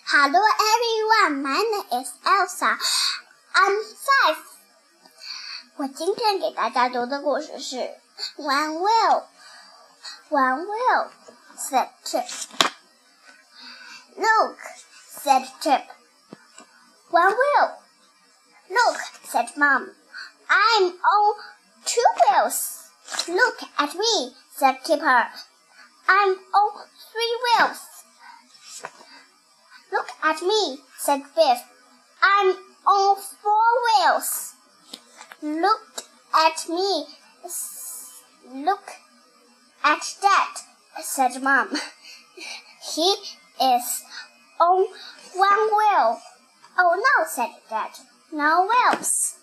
Hello everyone, my name is Elsa. I'm 5. 我今天给大家读的故事是 One whale, said Chip. Look, said Chip. One whale. Look, said Mom. I'm on 2 wheels. Look at me, said Kipper. I'm on 3 wheels. Look at me, said Biff. I'm on 4 wheels. Look at me. Look at Dad, said Mom. He is on 1 wheel. Oh no, said Dad. No wheels.